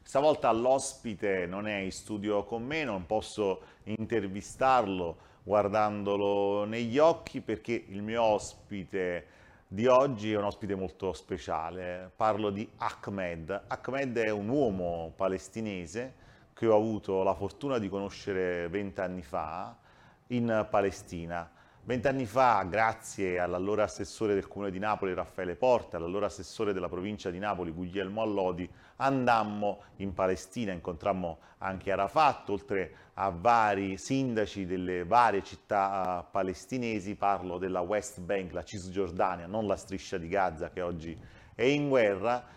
Stavolta l'ospite non è in studio con me, non posso intervistarlo guardandolo negli occhi perché il mio ospite di oggi è un ospite molto speciale. Parlo di Ahmed. Ahmed è un uomo palestinese che ho avuto la fortuna di conoscere 20 anni fa in Palestina. 20 anni fa, grazie all'allora assessore del Comune di Napoli, Raffaele Porta, all'allora assessore della provincia di Napoli, Guglielmo Allodi, andammo in Palestina, incontrammo anche Arafat, oltre a vari sindaci delle varie città palestinesi, parlo della West Bank, la Cisgiordania, non la striscia di Gaza che oggi è in guerra,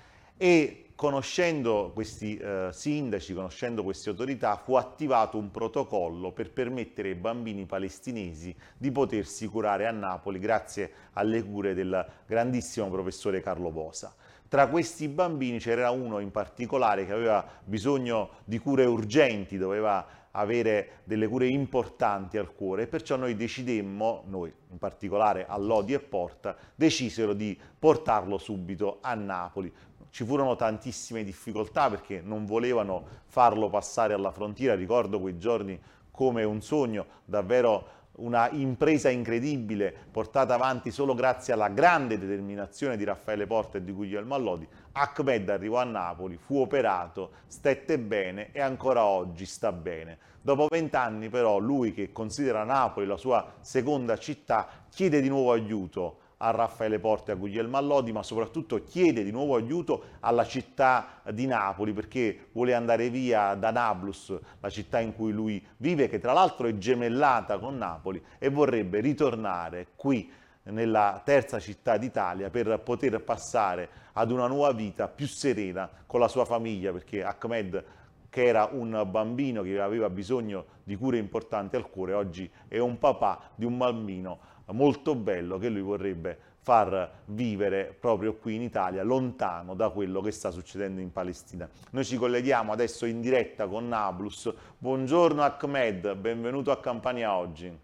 e conoscendo questi sindaci, conoscendo queste autorità, fu attivato un protocollo per permettere ai bambini palestinesi di potersi curare a Napoli grazie alle cure del grandissimo professore Carlo Bosa. Tra questi bambini c'era uno in particolare che aveva bisogno di cure urgenti, doveva avere delle cure importanti al cuore e perciò noi decidemmo, noi in particolare Allodi e Porta, decisero di portarlo subito a Napoli. Ci furono tantissime difficoltà perché non volevano farlo passare alla frontiera, ricordo quei giorni come un sogno, davvero una impresa incredibile portata avanti solo grazie alla grande determinazione di Raffaele Porta e di Guglielmo Allodi. Ahmed arrivò a Napoli, fu operato, stette bene e ancora oggi sta bene. Dopo 20 anni però lui, che considera Napoli la sua seconda città, chiede di nuovo aiuto a Raffaele Porta e a Guglielmo Allodi, ma soprattutto chiede di nuovo aiuto alla città di Napoli perché vuole andare via da Nablus, la città in cui lui vive, che tra l'altro è gemellata con Napoli, e vorrebbe ritornare qui nella terza città d'Italia per poter passare ad una nuova vita più serena con la sua famiglia, perché Ahmed, che era un bambino che aveva bisogno di cure importanti al cuore, oggi è un papà di un bambino molto bello che lui vorrebbe far vivere proprio qui in Italia, lontano da quello che sta succedendo in Palestina. Noi ci colleghiamo adesso in diretta con Nablus. Buongiorno Ahmed, benvenuto a Campania Oggi.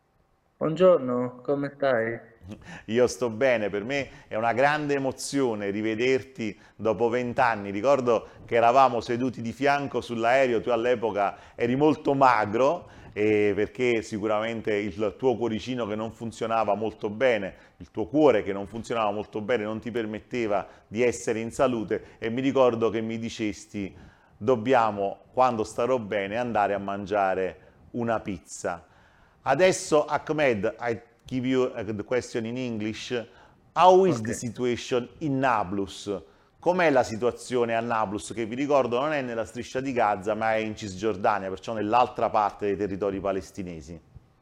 Buongiorno, come stai? Io sto bene, per me è una grande emozione rivederti dopo 20 anni. Ricordo che eravamo seduti di fianco sull'aereo, tu all'epoca eri molto magro, perché sicuramente il tuo cuoricino che non funzionava molto bene, il tuo cuore che non funzionava molto bene non ti permetteva di essere in salute e mi ricordo che mi dicesti dobbiamo, quando starò bene, andare a mangiare una pizza. Adesso, Ahmed, I give you the question in English. How is Ok. the situation in Nablus? Com'è la situazione a Nablus, che vi ricordo non è nella striscia di Gaza, ma è in Cisgiordania, perciò nell'altra parte dei territori palestinesi?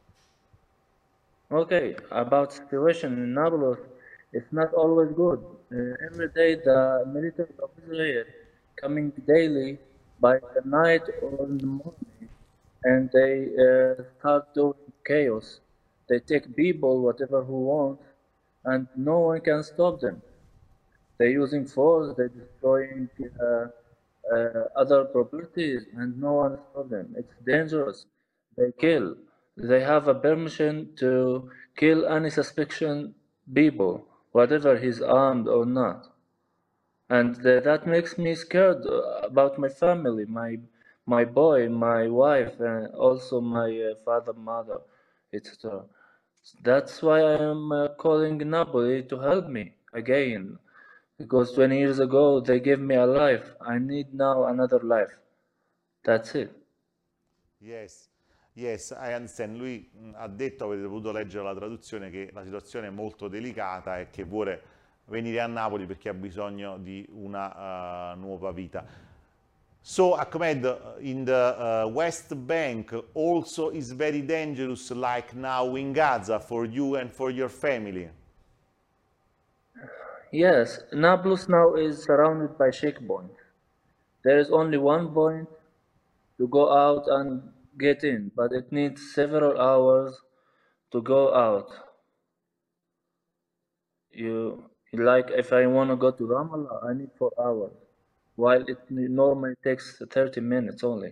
Okay, about situation in Nablus, it's not always good. Every day the military of Israel coming daily by the night or in the morning, and they start doing chaos. They take people, whatever who want, and no one can stop them. They're using force, they're destroying other properties, and no one stop them. It's dangerous. They kill. They have a permission to kill any suspicion people, whatever he's armed or not. And that makes me scared about my family, my boy, my wife, and also my father, mother, etc. That's why I am calling Napoli to help me again. Because 20 years ago they gave me a life. I need now another life. That's it. Yes, yes, I understand. Lui ha detto, avete potuto leggere la traduzione, che la situazione è molto delicata e che vuole venire a Napoli perché ha bisogno di una nuova vita. So, Ahmed, in the West Bank also is very dangerous, like now in Gaza, for you and for your family. Yes, Nablus now is surrounded by checkpoints. There is only one point to go out and get in, but it needs several hours to go out. Like if I want to go to Ramallah, I need 4 hours, while it normally takes 30 minutes only.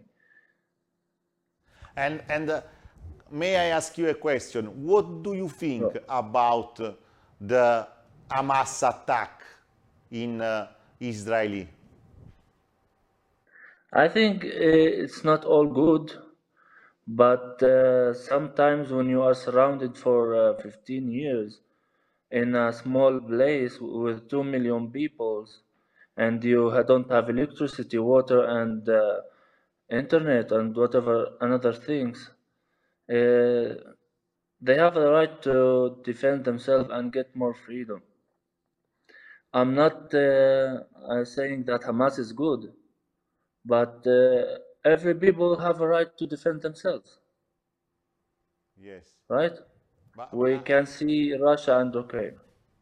And may I ask you a question? What do you think So, about the Hamas attack in Israeli? I think it's not all good, but sometimes when you are surrounded for 15 years in a small place with 2 million people and you don't have electricity, water, and internet and whatever another things, uh, they have the right to defend themselves and get more freedom. I'm not saying that Hamas is good, but every people have a right to defend themselves, Yes. right? But We can see Russia and Ukraine.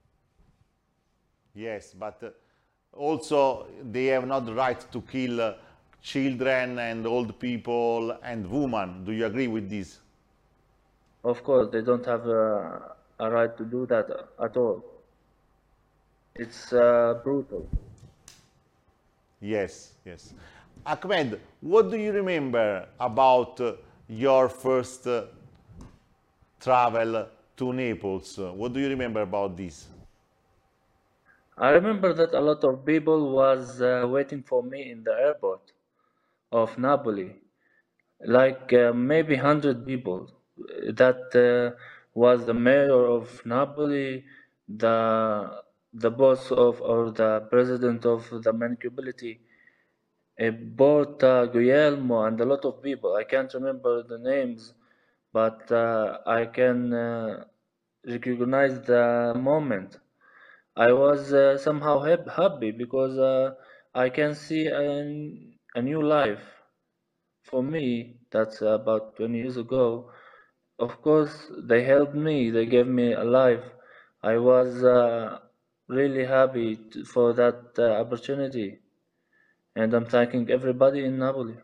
yes, but also they have not the right to kill children and old people and women. Do you agree with this? Of course, they don't have a right to do that at all. It's brutal. Yes, yes. Ahmed, what do you remember about your first travel to Naples? What do you remember about this? I remember that a lot of people was waiting for me in the airport of Napoli, like maybe 100 people. That was the mayor of Napoli, the boss of or the president of the municipality, Porta Guglielmo, and a lot of people. I can't remember the names, but I can recognize the moment. I was somehow happy because I can see a new life for me. That's about 20 years ago. Of course, they helped me. They gave me a life. I was really happy for that opportunity, and I'm thanking everybody in Napoli.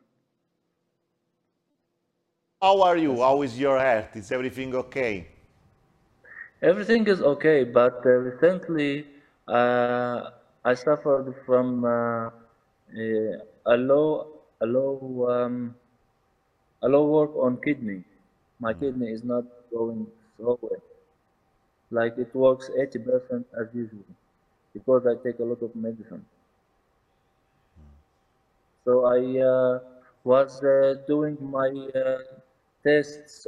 How are you? How is your health? Is everything okay? Everything is okay, but recently uh, I suffered from a low work on kidney. My kidney is not going so well. Like it works 80% as usual because I take a lot of medicine. So I was doing my tests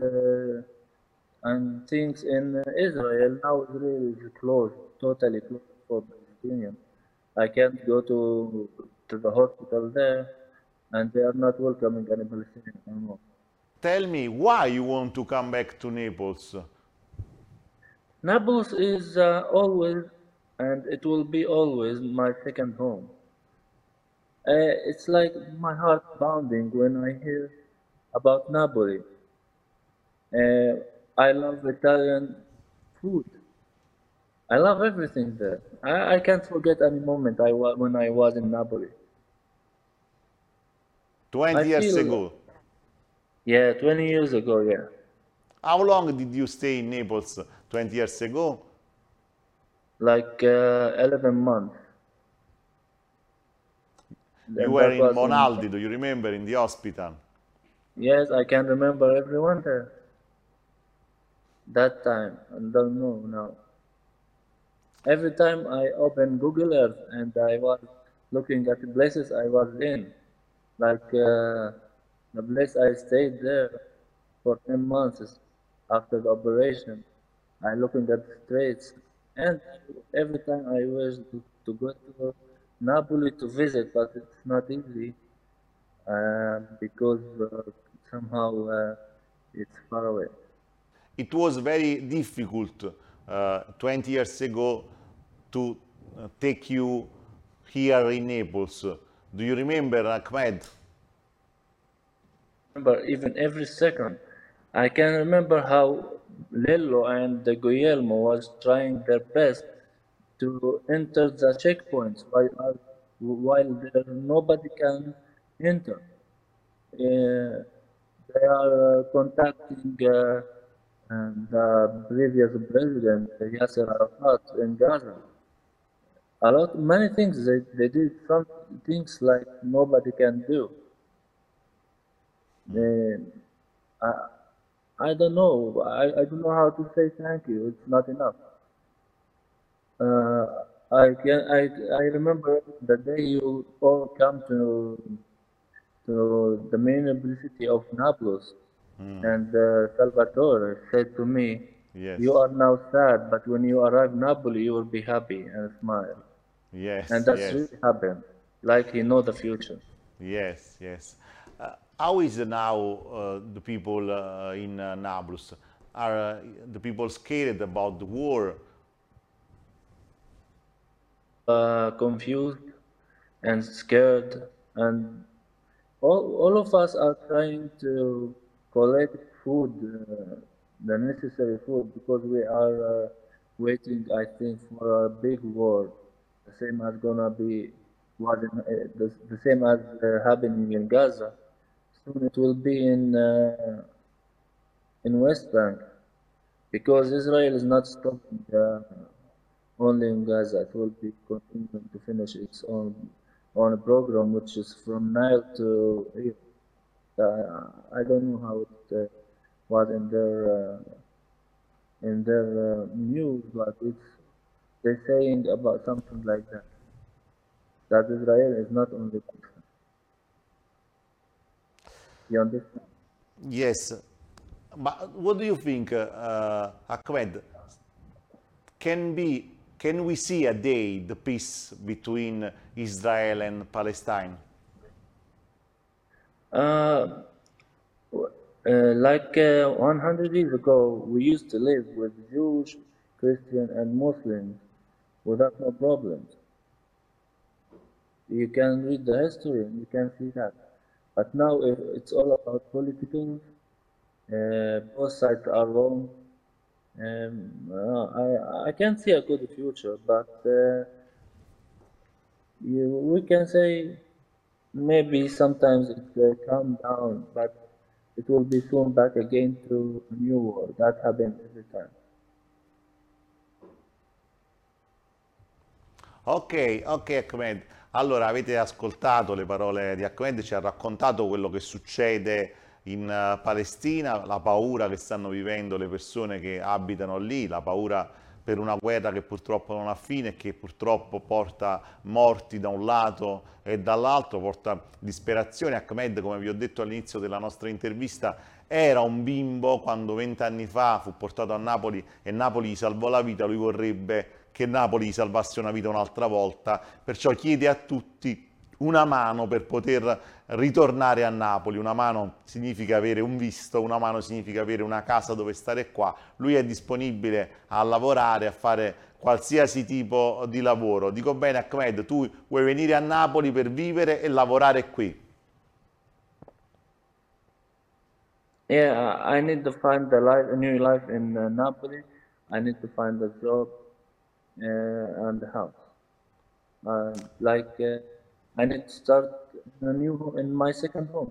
and things in Israel. Now Israel is closed, totally closed for Palestinians. I can't go to the hospital there, and they are not welcoming any Palestinian anymore. Tell me why you want to come back to Naples. Naples is always, and it will be always, my second home. It's like my heart pounding when I hear about Napoli. Uh, I love Italian food. I love everything there. I can't forget any moment when I was in Napoli. I 20 years feel, ago. yeah, 20 years ago, yeah, How long did you stay in Naples 20 years ago? like 11 months, You and were that in was in, Monaldi, do you remember, in the hospital? yes, I can remember everyone there that time. I don't know now. Every time I open Google Earth and I was looking at the places I was in, like the place I stayed there for 10 months after the operation, I looking at the streets, and every time I wish to go to Napoli to visit, but it's not easy because somehow it's far away. It was very difficult 20 years ago to take you here in Naples. Do you remember, Ahmed? Remember even every second. I can remember how Lello and Guillermo was trying their best to enter the checkpoints while there nobody can enter. They are contacting the previous president Yasser Arafat in Gaza. Many things they did some things like nobody can do. They, I, I don't know. I don't know how to say thank you. It's not enough. Uh, I remember the day you all come to. to the main university of Nablus, and Salvatore said to me, "You Yes, are now sad, but when you arrive Napoli, you will be happy and smile." And yes, that's yes, really happened. Like he know the future. yes, yes. How is now the people in Nablus? Are the people scared about the war? Confused and scared, and all of us are trying to collect food, the necessary food, because we are waiting, I think, for a big war, the same as gonna be the same as happening in Gaza. Soon it will be in West Bank, because Israel is not stopping only in Gaza. It will be continuing to finish its own program, which is from Nile to Europe. I don't know how it was in their news, but they're saying about something like that. That Israel is not only Palestine. You understand? Yes, but what do you think, Ahmed? Can we see a day the peace between Israel and Palestine? Uh, like 100 years ago, we used to live with Jews, Christian, and Muslims without no problems. You can read the history and you can see that. But now it's all about political. Both sides are wrong. I can't see a good future, but we can say maybe sometimes it calm down, but it will be soon back again to a new war. That happens every time. Ok, ok Ahmed. Allora avete ascoltato le parole di Ahmed, ci ha raccontato quello che succede in Palestina, la paura che stanno vivendo le persone che abitano lì, la paura per una guerra che purtroppo non ha fine e che purtroppo porta morti da un lato e dall'altro, porta disperazione. Ahmed, come vi ho detto all'inizio della nostra intervista, era un bimbo quando 20 anni fa fu portato a Napoli e Napoli gli salvò la vita, lui vorrebbe che Napoli gli salvasse una vita un'altra volta, perciò chiede a tutti una mano per poter ritornare a Napoli. Una mano significa avere un visto, una mano significa avere una casa dove stare qua. Lui è disponibile a lavorare, a fare qualsiasi tipo di lavoro. Dico bene, Ahmed, tu vuoi venire a Napoli per vivere e lavorare qui? Yeah, I need to find a new life in Napoli. I need to find a job and a house. I need to start in my second home.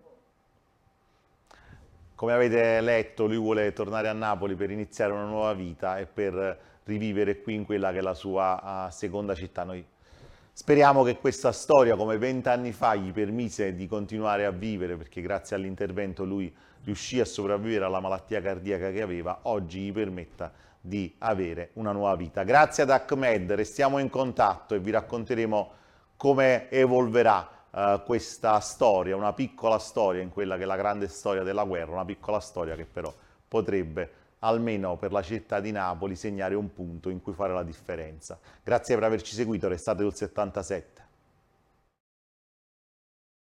Come avete letto, lui vuole tornare a Napoli per iniziare una nuova vita e per rivivere qui in quella che è la sua seconda città. Noi speriamo che questa storia, come 20 anni fa, gli permise di continuare a vivere, perché grazie all'intervento lui riuscì a sopravvivere alla malattia cardiaca che aveva, oggi gli permetta di avere una nuova vita. Grazie ad Ahmed, restiamo in contatto e vi racconteremo come evolverà questa storia, una piccola storia in quella che è la grande storia della guerra, una piccola storia che però potrebbe, almeno per la città di Napoli, segnare un punto in cui fare la differenza. Grazie per averci seguito, restate sul 77.